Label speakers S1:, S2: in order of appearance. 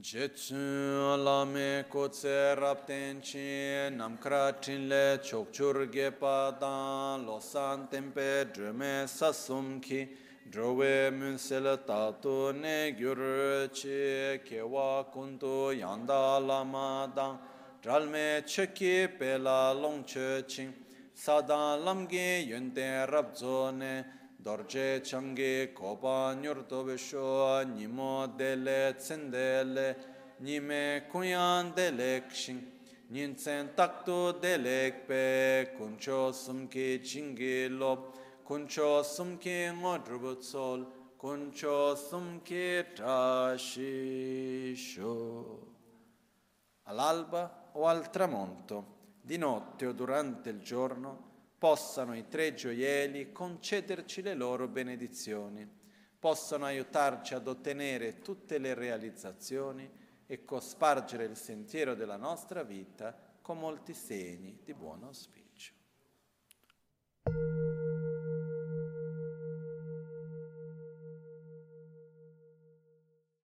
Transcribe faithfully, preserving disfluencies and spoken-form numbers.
S1: Jetsu lame kotse raptenchi namkra tinle chokchur gepa dan losan tempe drume sasumki drowe munsel tatu ne gyur chi kewa kuntu yanda lama dan dralme cheki pela longche ching sadan lamge yunte rabzone dorje changi kopa nyurto besho nimo dele tsendele nime kuyan delek shing ninsen takto delek pe kuncho sumki chingi lop kuncho sumki ngodrubut sol kuncho sumki trashisho. All'alba o al tramonto, di notte o durante il giorno, possano i tre gioielli concederci le loro benedizioni, possano aiutarci ad ottenere tutte le realizzazioni e cospargere il sentiero della nostra vita con molti segni di buon auspicio.